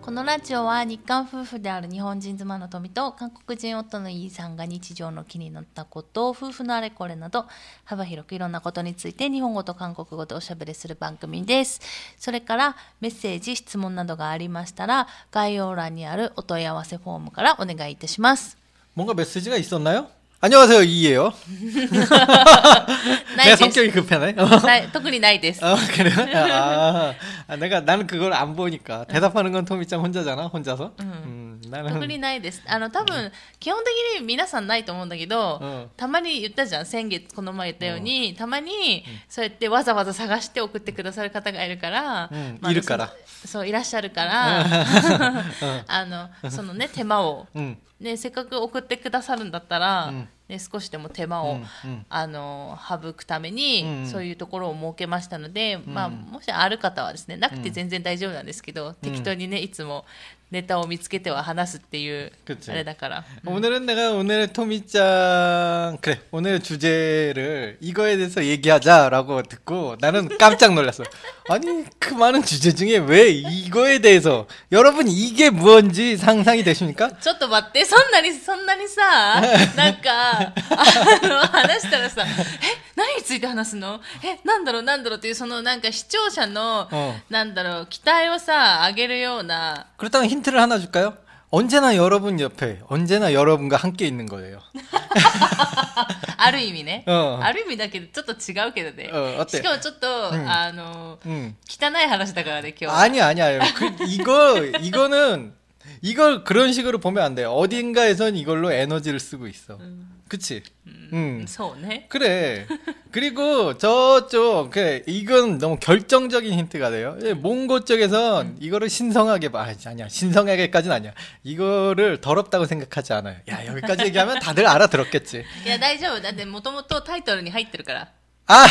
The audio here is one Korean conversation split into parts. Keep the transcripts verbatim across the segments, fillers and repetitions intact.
このラジオは日韓夫婦である日本人妻の富と韓国人夫のイーさんが日常の気になったことを夫婦のあれこれなど幅広くいろんなことについて日本語と韓国語でおしゃべりする番組です。それからメッセージ質問などがありましたら概要欄にあるお問い合わせフォームからお願いいたします。 뭔가 메시지가 있었나요? 안녕하세요, 이예요. 내 성격이 급하네. 特にないです。 어, 그래요? 아, 아, 내가 나는 그걸 안 보니까 대답하는 건 토미짱 혼자잖아, 혼자서. 음, 나는 特にないです。あの多分基本的に皆さんないと思うんだけど、うん、たまに言ったじゃん、先月この前言ったように、うん、たまにそうやってわざわざ探して送ってくださる方がいるから、 うんまあ、いるからそういらっしゃるからあのそのね手間を、うんね、せっかく送ってくださるんだったら、うんね、少しでも手間を、うんうん、あの省くために、うんうん、そういうところを設けましたので、うんまあ、もしある方はですね、なくて全然大丈夫なんですけど、うん、適当にねいつもネタを見つけては話すっていうあれだから。 오늘은 내가 오늘 토미짱 그래 오늘 주제를 이거에 대해서 얘기하자라고 듣고 나는 깜짝 놀랐어. 아니 그 많은 주제 중에 왜 이거에 대해서 여러분 이게 뭔지 상상이 되십니까? ちょっと待って、そんなにそんなにさなんかあの話したらさえ何について話すのえなんだろうなんだろうっていうそのなんか視聴者の、어. なんだろう期待をさ上げるような。 그렇다면 힌트를 하나 줄까요? 언제나 여러분 옆에 언제나 여러분과 함께 있는 거예요. ある意味ね、 어. ある意味だけどちょっと違うけどね、 어, しかもちょっと、うん、あの、うん、汚い話だからね今日。 아니야 아니야 그, 이거 이거는 이걸 그런 식으로 보면 안 돼. 어딘가에선 이걸로 에너지를 쓰고 있어. 음. 그치? 음, 음. 소네? 그래. 그리고 저쪽, 그, 이건 너무 결정적인 힌트가 돼요. 몽고 쪽에선 음. 이거를 신성하게, 아, 아니야. 신성하게까지는 아니야. 이거를 더럽다고 생각하지 않아요. 야, 여기까지 얘기하면 다들 알아들었겠지. 야, 大丈夫. だってもともとタイトルに入ってるから. 아,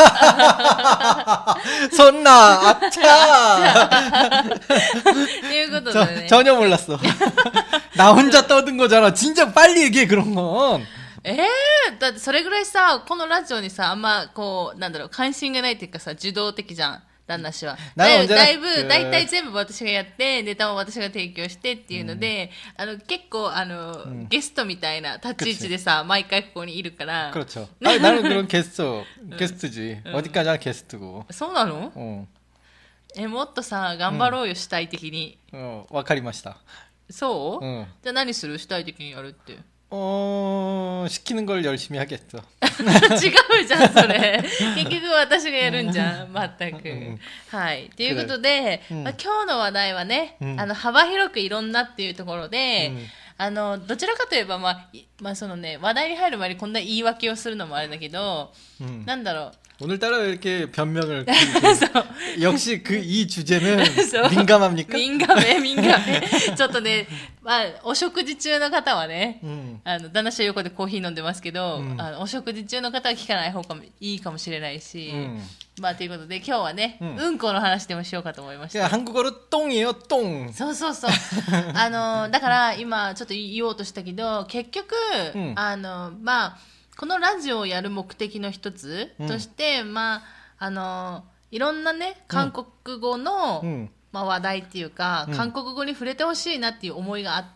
손나, 아차! っていうことでね. 전혀 몰랐어. 나 혼자 떠든 거잖아. 진짜 빨리 얘기해, 그런 건. えー、だってそれぐらいさ、このラジオにさ、あんまこう、なんだろう、関心がないっていうかさ、受動的じゃん。旦那氏は。だいぶ、だいぶ、だいたい全部私がやって、ネタも私が提供してっていうので、うん、あの、結構、あの、うん、ゲストみたいな立ち位置でさ、毎回ここにいるから。 그렇죠。아니、나는 그런ゲスト、ゲスト지。어디까지나ゲスト고。 そうなの？うん。え、もっとさ、頑張ろうよ、主体的に。 うん、わかりました。 そう？ うん。 じゃあ何する？主体的にやるって。 어... 시키는 걸 열심히 하겠죠. 違うじゃんそれ。結局私がやるんじゃん。全く。はい。ということで、まあ、今日の話題はね、あの幅広くいろんなっていうところで、あのどちらかといえばまあまあそのね話題に入る前にこんな言い訳をするのもあれだけど、なんだろう。 오늘따라 이렇게 변명을 역시 그 이 주제는 민감합니까? 민감해, 민감해. ちょっとね、まあお食事中の方はね、あの旦那氏は横でコーヒー飲んでますけど、あのお食事中の方は聞かない方がいいかもしれないし、まあということで今日はね、うんこの話でもしようかと思いました。 한국어로 똥이에요, 똥. そうそうそう。あのだから今ちょっと言おうとしたけど、結局あのまあ このラジオをやる目的の一つとして、うん、まああのいろんなね韓国語の、うん、まあ話題っていうか、うん、韓国語に触れてほしいなっていう思いがあって、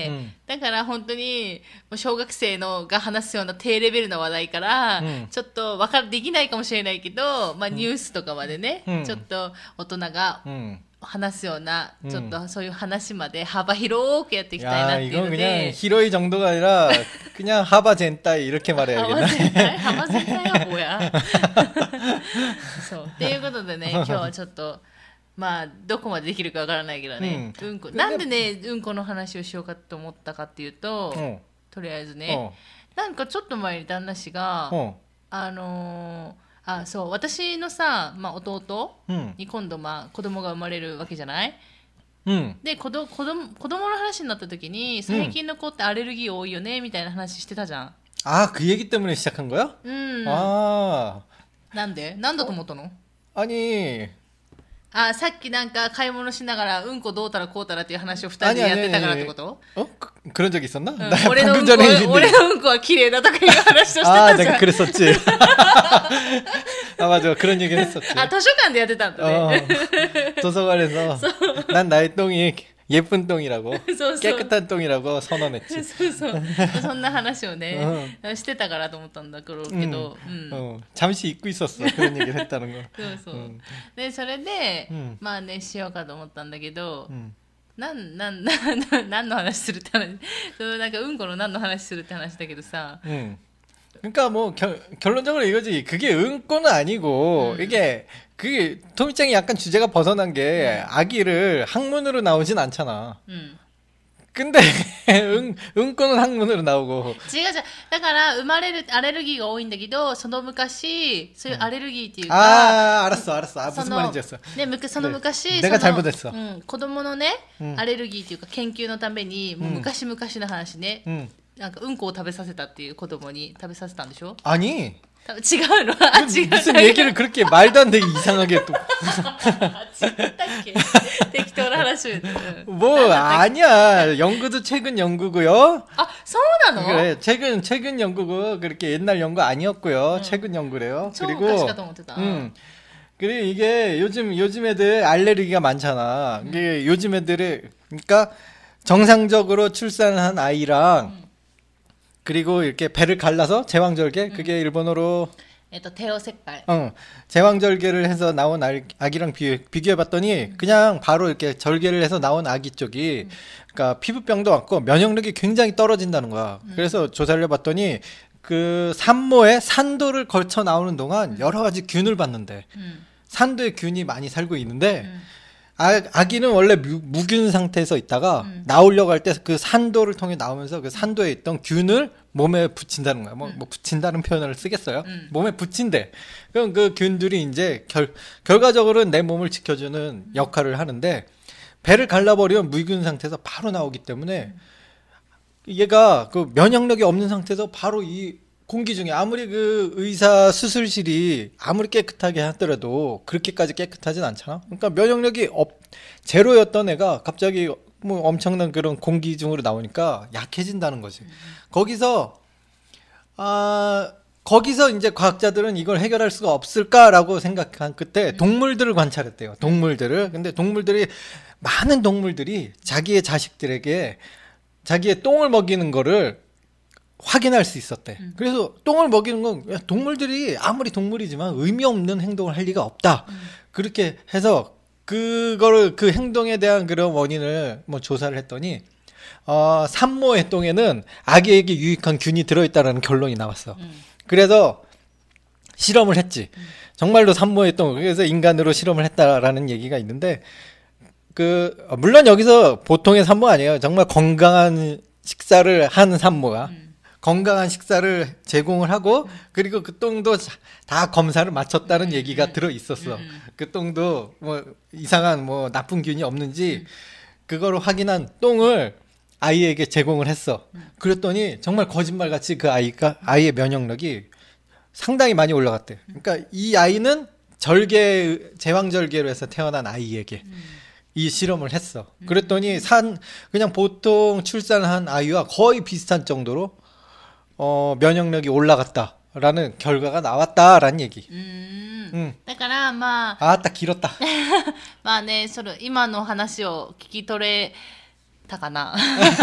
うん、だから本当に小学生のが話すような低レベルな話題から、うん、ちょっとわかできないかもしれないけど、まあニュースとかまでね、うん、ちょっと大人が、うん 話すようなちょっとそういう話まで幅広くやっていきたいなっていうので、 그냥 히로이 정도가 아니라 그냥 하바 젠타이 이렇게 말해야겠네. 하바 젠타이가 뭐야? そうっていうことでね、今日はちょっとまあどこまでできるかわからないけどね、うんこなんでねうんこの話をしようかと思ったかっていうと、とりあえずね、なんかちょっと前に旦那氏があの あ、そう、私のさ、まあ、弟に今度、まあ、子供が生まれるわけじゃない、うん、で子ど子供子供の話になった時に最近の子ってアレルギー多いよねみたいな話してたじゃん。 あ、그 얘기 때문에 시작한 거야? うん。 아. なんで？なんだと思ったの？ 아니. あ、さっきなんか買い物しながらうんこどうたらこうたらっていう話を二人でやってたからってこと？ 어? 그, 그런 적 있었나? 俺のうんこ、俺のうんこは綺麗だとかいう話をしてたじゃん。 아, 내가 그랬었지. 아, 맞아. 그런 얘기를 했었지. 아, 도서관でやってたんだね. 어, 도서관에서 난 나의 똥이 예쁜 똥이라고 そうそう 깨끗한 똥이라고 선언했지. そうそうそんな話をね、してたからと思ったんだけど、うん、 어, 잠시 잊고 있었어. 그런 얘기를 했다는 거. そうそう、うん、でそれで、 うん、 まあねしようかと思ったんだけど、 うん、 なんなんなん何の話するって話、そのなんかうんこの何の話するって話だけどさ、 음. 그러니까 뭐 결, 결론적으로 이거지. 그게 응꼬는 아니고 음. 이게 그게 토미짱이 약간 주제가 벗어난 게 아기를 학문으로 나오진 않잖아. 음. 근데 응 응꼬는 학문으로 나오고. 違う違う、だから生まれるアレルギーが多いんだけど、その昔そういうアレルギーっていうか、 아 알았어 알았어. 아, 무슨 その 말인지였어. ね、むその昔、 내가 その 잘못했어. うん、子供のね、 うん、 アレルギーっていうか研究のために、もう昔々の話ね、 음. なんかうんこを食べさせたっていう子供に食べさせたんでしょ？ 아니. 多分違うの？あ、違う。 무슨 얘기를 그렇게 말도 안 되게 이상하게 또. あ、違ったっけ？適当な話を言って。 뭐 아니야. 연구도 최근 연구고요. 아, そうなの? 그래. 최근 최근 연구고 그렇게 옛날 연구 아니었고요. 응. 최근 연구래요. 그리고 음. 그리고 이게 요즘 요즘 애들 알레르기가 많잖아. 이게 음. 요즘 애들이 그러니까 정상적으로 출산한 아이랑 음. 그리고 이렇게 배를 갈라서 제왕절개 음. 그게 일본어로 대어색깔. 어, 제왕절개를 해서 나온 아기랑 비교, 비교해봤더니 음. 그냥 바로 이렇게 절개를 해서 나온 아기 쪽이 음. 그러니까 피부병도 왔고 면역력이 굉장히 떨어진다는 거야. 음. 그래서 조사를 해봤더니 그 산모의 산도를 걸쳐 나오는 동안 음. 여러 가지 균을 봤는데 음. 산도에 균이 많이 살고 있는데 음. 아, 아기는 원래 무, 무균 상태에서 있다가 음. 나오려고 할 때 그 산도를 통해 나오면서 그 산도에 있던 균을 몸에 붙인다는 거야. 뭐, 음. 뭐 붙인다는 표현을 쓰겠어요? 음. 몸에 붙인대. 그럼 그 균들이 이제 결, 결과적으로는 내 몸을 지켜주는 음. 역할을 하는데 배를 갈라버리면 무균 상태에서 바로 나오기 때문에 음. 얘가 그 면역력이 없는 상태에서 바로 이 공기 중에 아무리 그 의사 수술실이 아무리 깨끗하게 하더라도 그렇게까지 깨끗하진 않잖아. 그러니까 면역력이 없, 제로였던 애가 갑자기 뭐 엄청난 그런 공기 중으로 나오니까 약해진다는 거지. 음. 거기서 아 거기서 이제 과학자들은 이걸 해결할 수가 없을까라고 생각한 끝에 동물들을 관찰했대요. 동물들을. 근데 동물들이 많은 동물들이 자기의 자식들에게 자기의 똥을 먹이는 거를 확인할 수 있었대. 음. 그래서 똥을 먹이는 건 야, 동물들이 아무리 동물이지만 의미 없는 행동을 할 리가 없다. 음. 그렇게 해서 그거를 그 행동에 대한 그런 원인을 뭐 조사를 했더니 어, 산모의 똥에는 아기에게 유익한 균이 들어있다라는 결론이 나왔어. 음. 그래서 실험을 했지. 음. 정말로 산모의 똥. 그래서 인간으로 실험을 했다라는 얘기가 있는데 그 물론 여기서 보통의 산모 아니에요. 정말 건강한 식사를 하는 산모가. 음. 건강한 식사를 제공을 하고 그리고 그 똥도 다 검사를 마쳤다는 음, 얘기가 음, 들어 있었어. 음. 그 똥도 뭐 이상한 뭐 나쁜 균이 없는지 그거를 확인한 똥을 아이에게 제공을 했어. 그랬더니 정말 거짓말같이 그 아이가 아이의 면역력이 상당히 많이 올라갔대. 그러니까 이 아이는 절개 제왕절개로 해서 태어난 아이에게 이 실험을 했어. 그랬더니 산 그냥 보통 출산한 아이와 거의 비슷한 정도로 어, 면역력이 올라갔다라는 결과가 나왔다라는 얘기. 음. 음. だからまあ 아따 길었다. まあね、それ今の話を聞き取れたかな。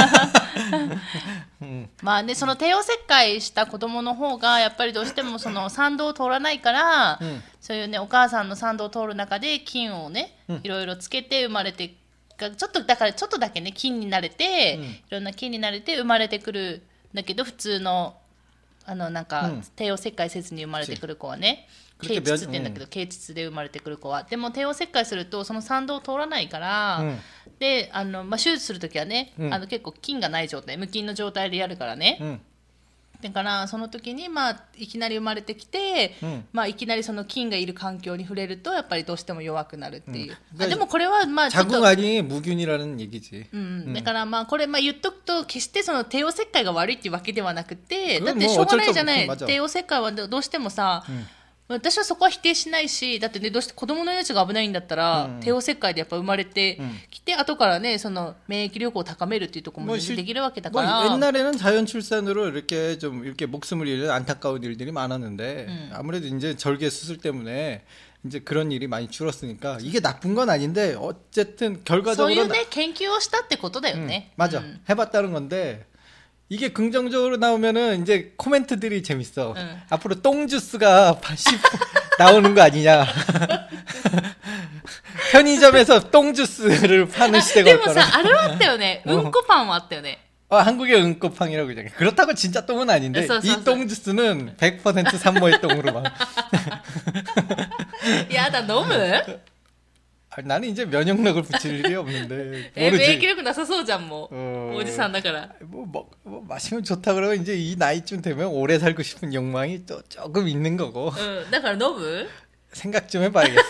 まあね、その帝王切開した子供の方がやっぱりどうしてもその産道を通らないから、うん、そういうねお母さんの産道を通る中で菌をね、うん、いろいろつけて生まれて、ちょっとだからちょっとだけね菌に慣れて、うん、いろんな菌に慣れて生まれてくる。だけど普通のあのなんか、うん、帝王切開せずに生まれてくる子はね、経腟って言うんだけど、経腟で生まれてくる子はでも帝王切開するとその産道を通らないから、うん、であの、まあ、手術するときはね、うん、あの結構菌がない状態無菌の状態でやるからね、うん、だからその時に、まあ、いきなり生まれてきて、うんまあ、いきなりその菌がいる環境に触れるとやっぱりどうしても弱くなるっていう、うん、あでもこれはまあちょっと 자궁아니무균이라는얘기지、 うん、だからまあこれまあ言っとくと決してその帝王切開が悪いっていうわけではなくてだってしょうがないじゃない帝王切開はどうしてもさ、うん私はそこは否定しないしだってねどうして子供の命が危ないんだったら、うん、帝王切開でやっぱ生まれてきて、うん、後からねその免疫力を高めるっていうところもできるわけだから。 뭐 옛날에는 자연 출산으로 이렇게 좀 이렇게 목숨을 잃는 안타까운 일들이 많았는데 음. 아무래도 이제 절개 수술 때문에 이제 그런 일이 많이 줄었으니까 이게 나쁜 건 아닌데 어쨌든 결과적으로 そういうね研究をしたってことだよね 음, 맞아. 음. 해봤다는 건데 이게 긍정적으로 나오면은 이제 코멘트들이 재밌어. 응. 앞으로 똥주스가 십 나오는 거 아니냐. 편의점에서 똥주스를 파는 시대가 でも 올 さ 거라. あれはあったよねうんこパンはあったよね 어, 한국의 응꼬팡이라고 그러잖아. 그렇다고 진짜 똥은 아닌데 써, 써, 이 써. 똥주스는 백 퍼센트 산모의 똥으로 막. やだ飲む 아, 나는 이제 면역력을 붙일 일이 없는데 え免疫 모르지. 力なさそうじゃんもう 어, おじさんだから 뭐, 뭐, 뭐 마시면 좋다 그러면 이제 이 나이쯤 되면 오래 살고 싶은 욕망이 또 조금 있는 거고 うんだから飲む 생각 좀 해봐야겠어.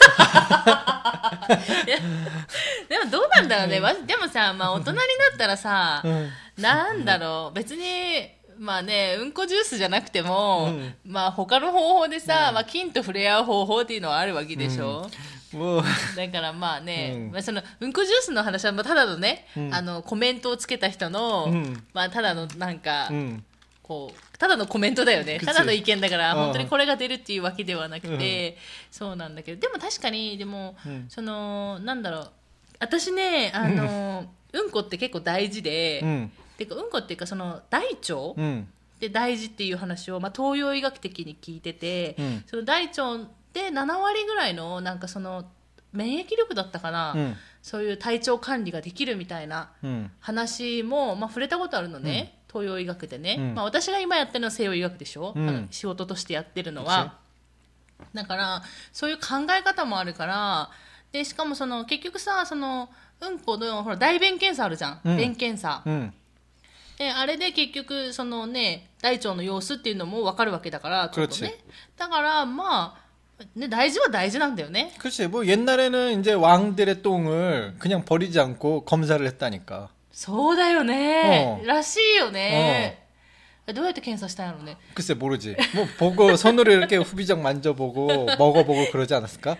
でもどうなんだろうね、わでもさ、まあ、大人になったらさ、 응. なんだろう別にまあねうんこジュースじゃなくても、 うんまあ他の方法でさ、まあ、菌と触れ合う方法っていうのはあるわけでしょ、 뭐 だからまあね、 うんまあ、そのうんこジュースの話はまあただのね、 うんあのコメントをつけた人の、 うんまあ、ただのなんか、 응. こうただのコメントだよねくちただの意見だからうん本当にこれが出るっていうわけではなくて、そうなんだけどでも確かにでも、 うんそのなんだろう私ねあの、うんこって結構大事で、 응. てかうんこっていうかその大腸 응. で大事っていう話を、まあ、東洋医学的に聞いてて、 うんその大腸でなな割ぐらいのなんかその免疫力だったかな、 응. そういう体調管理ができるみたいな 응. 話も、まあ、触れたことあるのね、東洋医学でね、 うんまあ、私が今やってるのは西洋医学でしょ、 うんあの仕事としてやってるのはだからそういう考え方もあるからでしかもその結局さそのうんこのほら大便検査あるじゃん、 うん便検査、 응. であれで結局そのね大腸の様子っていうのも分かるわけだからちょっとねだからまあね大事は大事なんだよね 그렇지. 뭐 옛날에는 이제 왕들의 똥을 그냥 버리지 않고 검사를 했다니까. そうだよね、 うんらしいよね、どうやって検査したんやろうね 글쎄 모르지. 뭐 보고 손으로 이렇게 후비적 만져보고 먹어보고 그러지 않았을까?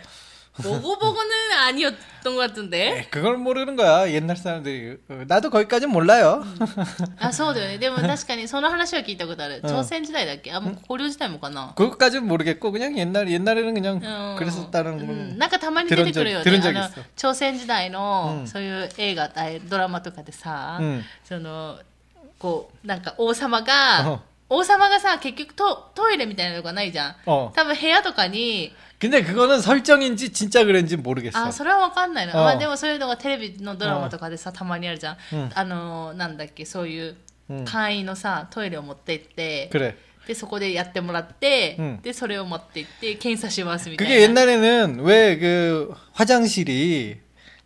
보고보고는 아니었던 것 같은데. 에이, 그걸 모르는 거야. 옛날 사람들이. 어, 나도 거기까지는 몰라요. あ、そうだよね。でも確かにその話は聞いたことある。 うん朝鮮時代だっけあ、もう古領時代もかな。 그것까지는 모르겠고 그냥 옛날 옛날에는 그냥 うん 그랬었다는 う 건 んなんかたまに出てくるよね。 들은 적 あの 있어. 朝鮮時代の、 うんそういう映画、あドラマとかでさ、 うんそのこうなんか王様が、 うん王様がさ結局トトイレみたいなのがないじゃん。 어. 多分部屋とかに 근데 그거는 설정인지 진짜 그런지 모르겠어. あそれは分かんないな、 うんまあ、でもそういうのがテレビのドラマとかでさたまにあるじゃん、 うんあのなんだっけそういううん簡易のさトイレを持って行って、 그래. でそこでやってもらって、 うんでそれを持って行って検査しますみたいな 그게 옛날에는 왜 그 화장실이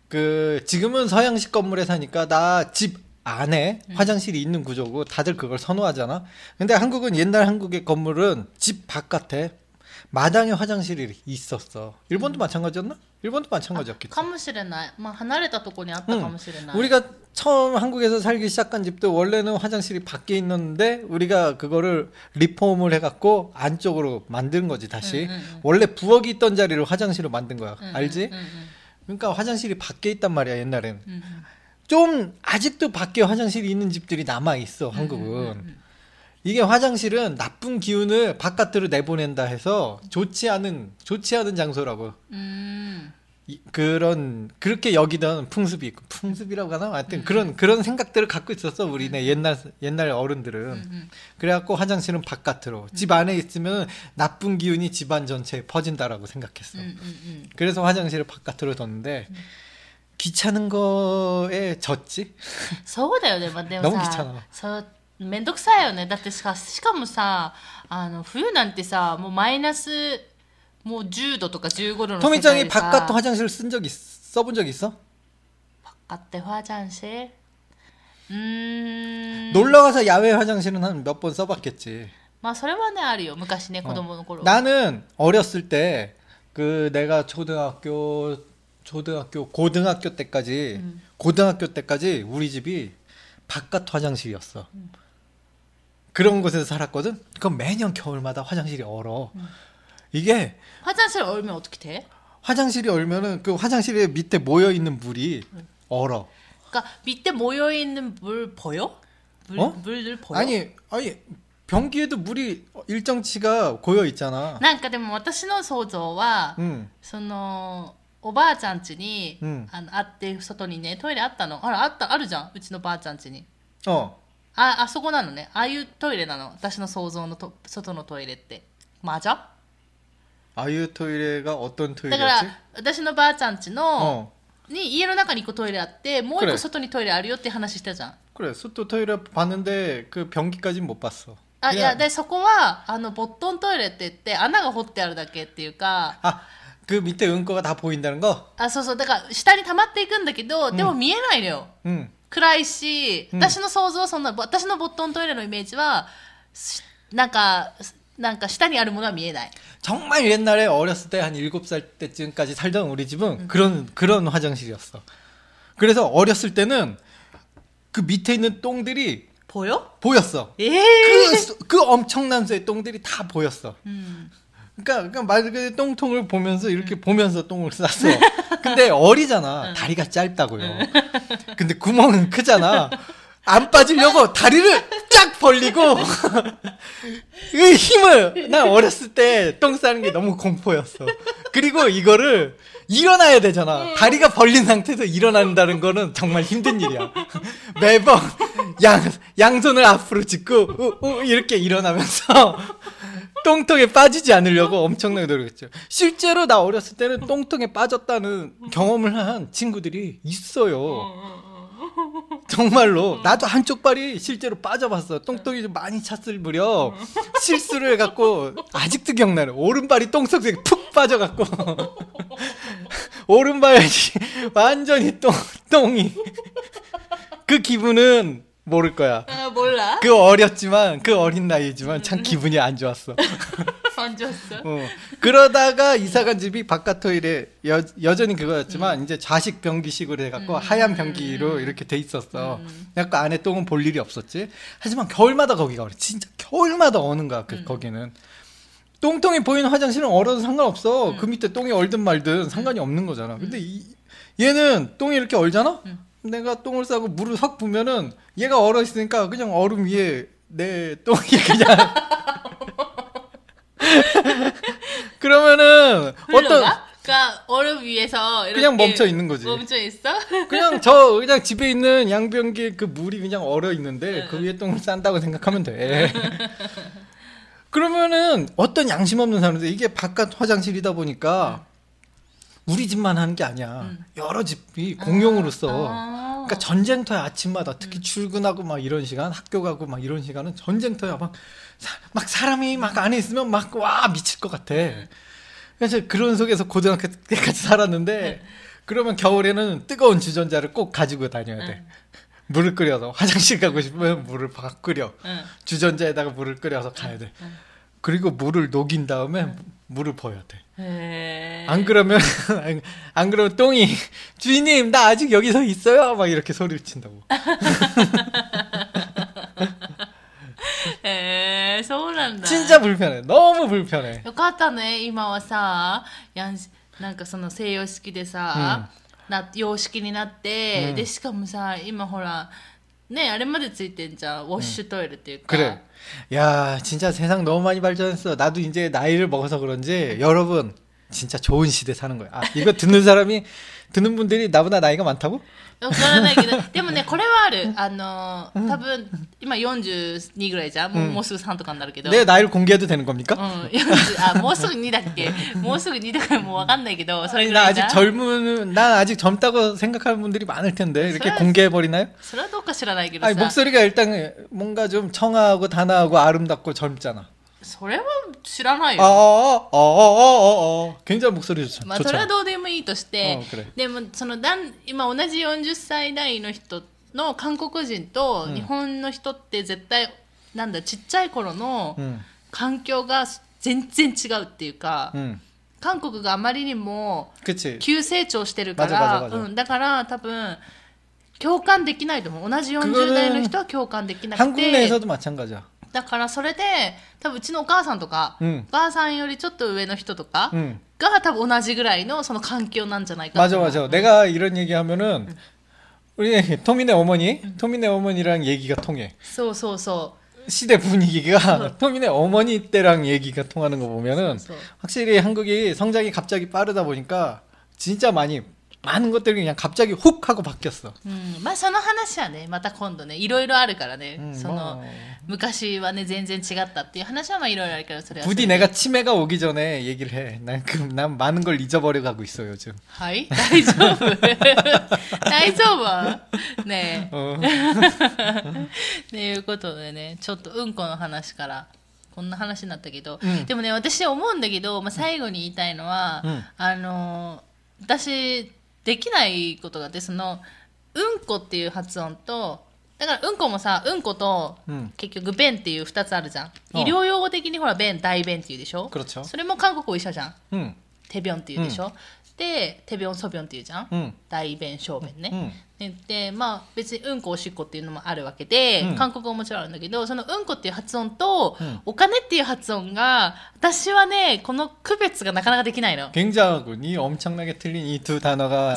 그 지금은 서양식 건물에 사니까 나 집 안에 화장실이 있는 구조고 다들 그걸 선호하잖아. 근데 한국은 옛날 한국의 건물은 집 바깥에 마당에 화장실이 있었어. 일본도 마찬가지였나? 일본도 마찬가지였겠지. かもしれない、まあ、離れたとこにあったかもしれない、 우리가 처음 한국에서 살기 시작한 집도 원래는 화장실이 밖에 있는데 우리가 그거를 리폼을 해갖고 안쪽으로 만든 거지 다시. 응, 응, 응. 원래 부엌이 있던 자리를 화장실로 만든 거야. 응, 알지? 응, 응, 그러니까 화장실이 밖에 있단 말이야 옛날엔. 응, 응. 좀 아직도 밖에 화장실이 있는 집들이 남아 있어 한국은. 이게 화장실은 나쁜 기운을 바깥으로 내보낸다 해서 좋지 않은 좋지 않은 장소라고. 음. 이, 그런 그렇게 여기던 풍습이 있고 풍습이라고 하나 하여튼 그런 그런 생각들을 갖고 있었어 우리네 옛날 옛날 어른들은. 음. 그래갖고 화장실은 바깥으로 집 안에 있으면 나쁜 기운이 집안 전체에 퍼진다라고 생각했어. 음, 음, 음. 그래서 화장실을 바깥으로 뒀는데 귀찮은 거에 졌지. そうだよね、まあ、でも 너무 さ 귀찮아. そうめんどくさいよねだってさしかもさあの冬なんてさもうマイナスもうじゅうどとかじゅうごどの世界 토미짱이 でさ 바깥 화장실 쓴 적 있, 써본 적 있어? 바깥에 화장실 음 놀러 가서 야외 화장실은 한 몇 번 써봤겠지. まあそれはねあるよ昔ね子供の頃、 나는 어렸을 때 그 내가 초등학교 초등학교 고등학교 때까지 음. 고등학교 때까지 우리 집이 바깥 화장실이었어. 그런 곳에서 살았거든. 그럼 매년 겨울마다 화장실이 얼어. 이게 화장실 얼면 어떻게 돼? 화장실이 얼면은 그 화장실에 밑에 모여 있는 물이 얼어. 그러니까 밑에 모여 있는 물 보여? 물, 어? 물들 보여? 아니 아니 변기에도 물이 일정치가 고여 있잖아. なんかでも私の想像は、 응. そのおばあちゃん家に、 うん、 あのあって外にねトイレあったの。あらあったあるじゃんうちのばあちゃん家に。 あああそこなのね。ああいうトイレなの。私の想像のと外のトイレって。まじゃ？ ああいうトイレが어떤トイレだから私のばあちゃん家の、に家の中に一個トイレあってもう一個外にトイレあるよって話したじゃん。 그래外トイレ봤는데 그 변기까지는 못 봤어. あいやでそこはあのボットントイレって言って穴が掘ってあるだけっていうか。 あ그 밑에 응고가 다 보인다는 거? あ、そうそう。だから下に溜まっていくんだけど、でも見えないのよ。うん、暗いし、うん、私の想像はそんな、私のボットントイレのイメージは、なんか、なんか下にあるものは見えない。 정말 옛날에 어렸을 때 한 일곱 살 때쯤까지 살던 우리 집은 음. 그런 그런 화장실이었어. 그래서 어렸을 때는 그 밑에 있는 똥들이 보여? 보였어. 그, 그 엄청난 수의 똥들이 다 보였어. 음. 그러니까, 그러니까 말 그대로 똥통을 보면서 이렇게 음. 보면서 똥을 쌌어. 근데 어리잖아. 음. 다리가 짧다고요. 음. 근데 구멍은 크잖아. 안 빠지려고 다리를 쫙 벌리고 그 힘을 나 어렸을 때 똥 싸는 게 너무 공포였어. 그리고 이거를 일어나야 되잖아. 다리가 벌린 상태에서 일어난다는 거는 정말 힘든 일이야. 매번 양 양손을 앞으로 짚고 우, 우, 이렇게 일어나면서 똥통에 빠지지 않으려고 엄청나게 노력했죠. 실제로 나 어렸을 때는 똥통에 빠졌다는 경험을 한 친구들이 있어요. 정말로 나도 한쪽 발이 실제로 빠져봤어. 똥똥이 좀 많이 찼을 무렵 실수를 해갖고 아직도 기억나네. 오른발이 똥속에 푹 빠져갖고 오른발이 완전히 똥, 똥이 그 기분은 모를 거야. 아, 몰라? 그 어렸지만 그 어린 나이지만 참 기분이 안 좋았어. 안 좋았어? 어. 그러다가 이사간 집이 바깥 토일에 여, 여전히 그거였지만 음. 이제 좌식 변기식으로 해갖고 음. 하얀 변기로 이렇게 돼 있었어. 음. 약간 안에 똥은 볼 일이 없었지. 하지만 겨울마다 거기가 그래. 진짜 겨울마다 어는 거야. 그, 음. 거기는. 똥똥이 보이는 화장실은 얼어도 상관없어. 음. 그 밑에 똥이 얼든 말든 상관이 없는 거잖아. 근데 이, 얘는 똥이 이렇게 얼잖아? 음. 내가 똥을 싸고 물을 확 부면은 얘가 얼어 있으니까 그냥 얼음 위에 내 똥이 그냥 그러면은 어떤 그러니까 얼음 위에서 이렇게 그냥 멈춰 있는 거지. 멈춰 있어? 그냥 저 그냥 집에 있는 양변기에 그 물이 그냥 얼어 있는데 그 위에 똥을 싼다고 생각하면 돼. 그러면은 어떤 양심 없는 사람들 이게 바깥 화장실이다 보니까 우리 집만 하는 게 아니야. 음. 여러 집이 공용으로 써. 아. 그러니까 전쟁터야 아침마다 특히 음. 출근하고 막 이런 시간, 학교 가고 막 이런 시간은 전쟁터야. 막, 사, 막 사람이 막 안에 있으면 막 와 미칠 것 같아. 음. 그래서 그런 속에서 고등학교 때까지 살았는데 음. 그러면 겨울에는 뜨거운 주전자를 꼭 가지고 다녀야 돼. 음. 물을 끓여서 화장실 가고 싶으면 물을 막 끓여. 음. 주전자에다가 물을 끓여서 가야 돼. 음. 그리고 물을 녹인 다음에 음. 물을 버려야 돼. 에이. 안 그러면 안 그러면 똥이 주인님 나 아직 여기서 있어요 막 이렇게 소리를 친다고. 에, そうなんだ. 진짜 불편해. 너무 불편해. よかったね今はさ、やんなんかその西洋式でさ、な洋式になって、でしかもさ今ほらねあれまでついてんじゃんウォッシュトイレっていうか. 그래. 야 진짜 세상 너무 많이 발전했어. 나도 이제 나이를 먹어서 그런지 여러분 진짜 좋은 시대 사는 거야. 아, 이거 듣는 사람이 듣는 분들이 나보다 나이가 많다고? わからないけどでもねこれはあるあの多分今よんじゅうにぐらいじゃんもう、うん、もうすぐさんとかになるけど 내 나이를 공개해도 되는 겁니까? うんよんじゅうあもうすぐにだっけもうすぐにだからもうわかんないけどそれぐらい 나 아직 젊은 난 아직 젊다고 생각하는 분들이 많을 텐데 이렇게 공개해 버리나요? それはどうか知らないけどさ 아니, 목소리가 일단 뭔가 좀 청아하고 단아하고 아름답고 젊잖아. それは知らないよ。 ああああああああ굉장히 목소리 좋죠. まあそれはどうでもいいとして、でもそのだん今同じよんじゅっさい代の人の韓国人と日本の人って絶対、うん、なんだちっちゃい頃の環境が全然違うっていうか、うん、韓国があまりにも急成長してるから、うん、だから多分共感できないと思う。同じよんじゅう代の人は共感できなくて。 한국 내에서도 마찬가지야. だからそれで多分うちのお母さんとか、うん、お母さんよりちょっと上の人とかが多分同じぐらいのその環境なんじゃないかと。 맞아 맞아. 내가 이런 얘기하면은 우리 토미네 어머니, 토미네 어머니랑 얘기가 통해. そうそうそう。 시대 분위기가 토미네 어머니 때랑 얘기가 통하는 거 보면은 확실히 한국이 성장이 갑자기 빠르다 보니까 진짜 많이 많은 것들이 그냥 갑자기 훅 하고 바뀌었어. 음, まあその話はね、また今度ね、いろいろあるからね、うん、その昔はね全然違ったっていう話はまあいろいろあるからそれは。 부디 내가 치매가 오기 전에 얘기를 해. 난 그 난 많은 걸 잊어버려 가고 있어 요즘. はい、大丈夫大丈夫ねえ。 어. っていうことでね、ちょっとうんこの話からこんな話になったけど、 うん、 でもね私思うんだけど、まあ、最後に言いたいのは、うん、あの私できないことがあって、そのうんこっていう発音と、だからうんこもさ、うんこと、うん、結局便っていうふたつあるじゃん。医療用語的にほら便、大便っていうでしょ。それも韓国語一緒じゃん。うん、手便っていうでしょ。うん、で手便ソ便っていうじゃん。うん、大便小便ね。うん、でまあ別にうんこおしっこっていうのもあるわけで、うん、韓国語ももちろんあるんだけど、そのうんこっていう発音と、うん、お金っていう発音が私はねこの区別がなかなかできないの。 굉장히 엄청나게 틀린 이 두 단어가.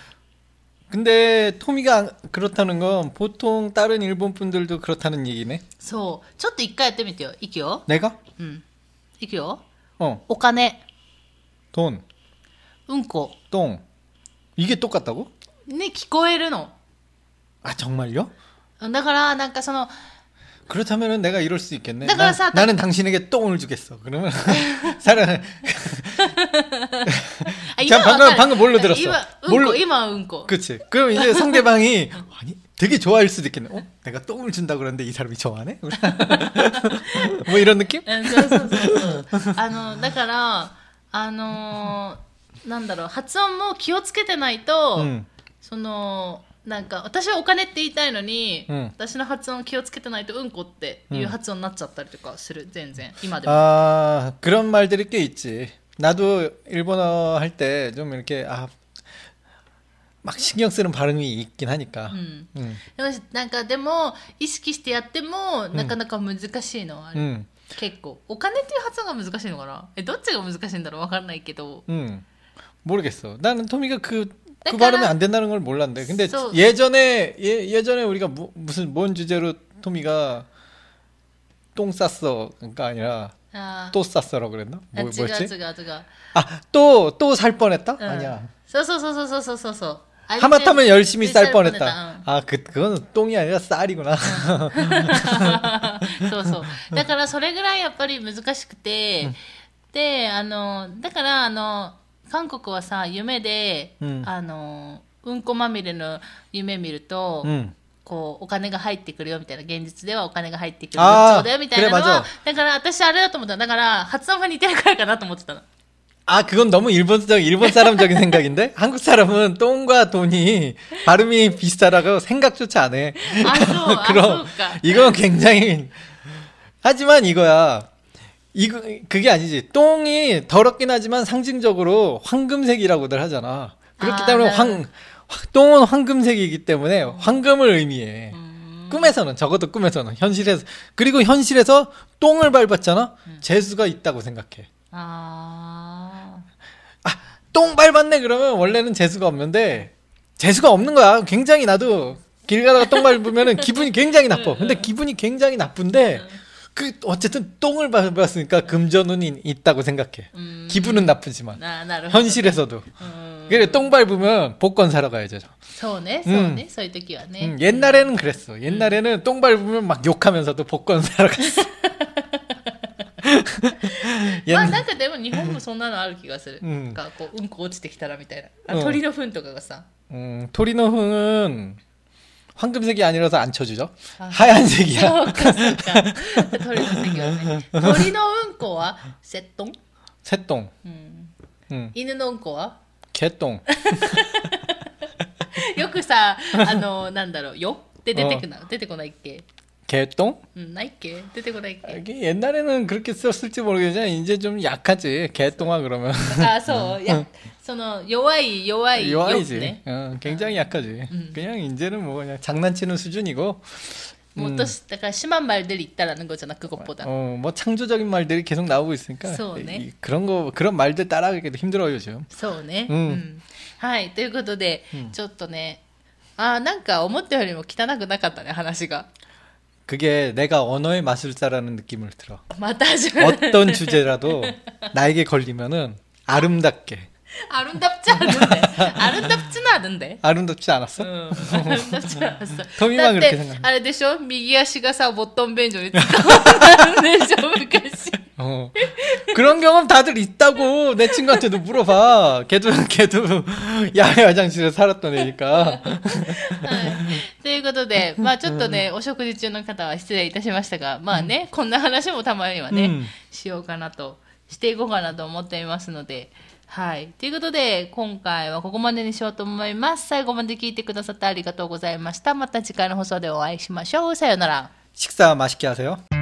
근데 토미가 그렇다는 건 보통 다른 일본 분들도 그렇다는 얘기네. そう。ちょっと一回やってみてよ。いくよ。 내가? 응. いくよ。 어. お金。 돈. うんこ。 똥. 이게 똑같다고? ね、聞こえるの。 아 정말요? だからなんかその 그렇다면은 내가 이럴 수 있겠네. 나, 사, 나는 당신에게 똥을 주겠어. 그러면 사람 아, 방금 방금 뭘로 들었어? 뭘로? 이마 응고. 그렇지. 그럼 이제 상대방이 아니 되게 좋아할 수도 있겠네. 어? 내가 똥을 준다 그러는데 이 사람이 좋아하네? 뭐 이런 느낌? そうそうそうそう。あのだからあのなんだろう、発音も気をつけてないと、うん、そのなんか私はお金って言いたいのに、うん、私の発音気をつけてないとうんこっていう発音になっちゃったりとかする、全然今でも。 아 그런 말들이 꽤 있지. 나도 일본어 할 때 좀 이렇게 아 막 신경 쓰는 발음이 있긴 하니까. 음. 음. なんかでも意識してやってもなかなか難しいのはある。 음. 結構お金っていう発音が難しいのかな。えどっちが難しいんだろう、わからないけど。 음. 모르겠어. 나는 토미가 그 그 발음이 안 된다는 걸 몰랐는데. 근데 so, 예전에 예, 예전에 우리가 무, 무슨 뭔 주제로 토미가 똥 쌌어가 아니라 아, 또 쌌어라고 그랬나? 뭐, 아, 뭐였지? 지가, 지가. 아, 또 또 살 뻔했다? 응. 아니야. 소소소소소소소. 하마터면 열심히 쌀 뻔했다. 응. 아, 그 그건 똥이 아니라 쌀이구나. そうそう。だからそれぐらいやっぱり難しくて、で、あのだからあの韓国はさ夢で、うん、あのうんこまみれの夢見ると、うん、こうお金が入ってくるよみたいな、現実ではお金が入ってくるそうだよみたいなのは、だから私あれだと思った。だから発音が似てるからかなと思ってたの。 아, 그건 너무 일본적, 일본 사람적인 생각인데? 한국 사람은 똥과 돈이 발음이 비슷하다고 생각조차 안 해. 아, 그럼, 이건 굉장히, 하지만 이거야. 이거, 그게 아니지. 똥이 더럽긴 하지만 상징적으로 황금색이라고들 하잖아. 그렇기 아, 때문에 네. 황, 똥은 황금색이기 때문에 황금을 의미해. 음. 꿈에서는, 적어도 꿈에서는, 현실에서. 그리고 현실에서 똥을 밟았잖아? 음. 재수가 있다고 생각해. 아. 아, 똥 밟았네 그러면 원래는 재수가 없는데 재수가 없는 거야. 굉장히 나도 길 가다가 똥 밟으면은 기분이 굉장히 나빠. 근데 기분이 굉장히 나쁜데 그 어쨌든 똥을 밟았으니까 금전운이 있다고 생각해. 음. 기분은 나쁘지만 아, 현실에서도. 음. 그래 똥 밟으면 복권 사러 가야죠. そうね、そうね、そういう時はね。 음, 옛날에는 그랬어. 옛날에는 똥 밟으면 막 욕하면서도 복권 사러 갔어. まあなんかでも日本もそんなのある気がする。なんかこううんこ落ちてきたらみたいな。あ、鳥の糞とかがさ。 음, 토리노 흥은 황금색이 아니라서 안 쳐주죠. 아, 하얀색이야. そうかそうか。鳥の席はね。鳥のうんこはセットン？ 새똥. 음. 음. 犬のうんこは 개똥. よくさ、あのなんだろうよって出てくな、出てこないっけ? 개똥? 응, 나이게. 대대고나이게. 옛날에는 그렇게 썼을지 모르겠지만 이제 좀 약하지. 개똥아 그러면. 아, 소. 약, 소노 요아이, 요아이. 요아이지. 어, 굉장히 약하지. 음. 그냥 이제는 뭐 그냥 장난치는 수준이고. 뭐 또, 약간 심한 말들이 있다라는 거잖아, 그것보다. 어, 뭐 창조적인 말들이 계속 나오고 있으니까. 소네. 그런 거, 그런 말들 따라하기도 힘들어요, 지금. 소네. 음. 음. はい、ということで、ちょっとね、あ、なんか思ったよりも汚くなかったね、話が。 그게 내가 언어의 마술사라는 느낌을 들어. 맞아. 어떤 주제라도 나에게 걸리면은 아름답게. 아름답지 않은데. 아름답지는 않은데. 아름답지 않았어? 응. 아름답지 않았어. 토미만 그렇게 생각해. あれでしょ右足がさ、ボットン便所に使われたんでしょ昔。 어. 그런 경험 다들 있다고 내 친구한테도 물어봐. 걔도 걔도 야외 화장실에 살았던 애니까. ということで、まあちょっとね、お食事中の方は失礼いたしましたが、まあね、こんな話もたまにはね、 うん、 しようかなと、していこうかなと思っていますので、はい。ということで、今回はここまでにしようと思います。最後まで聞いてくださってありがとうございました。また次回の放送でお会いしましょう。さようなら。 식사 맛있게 하세요.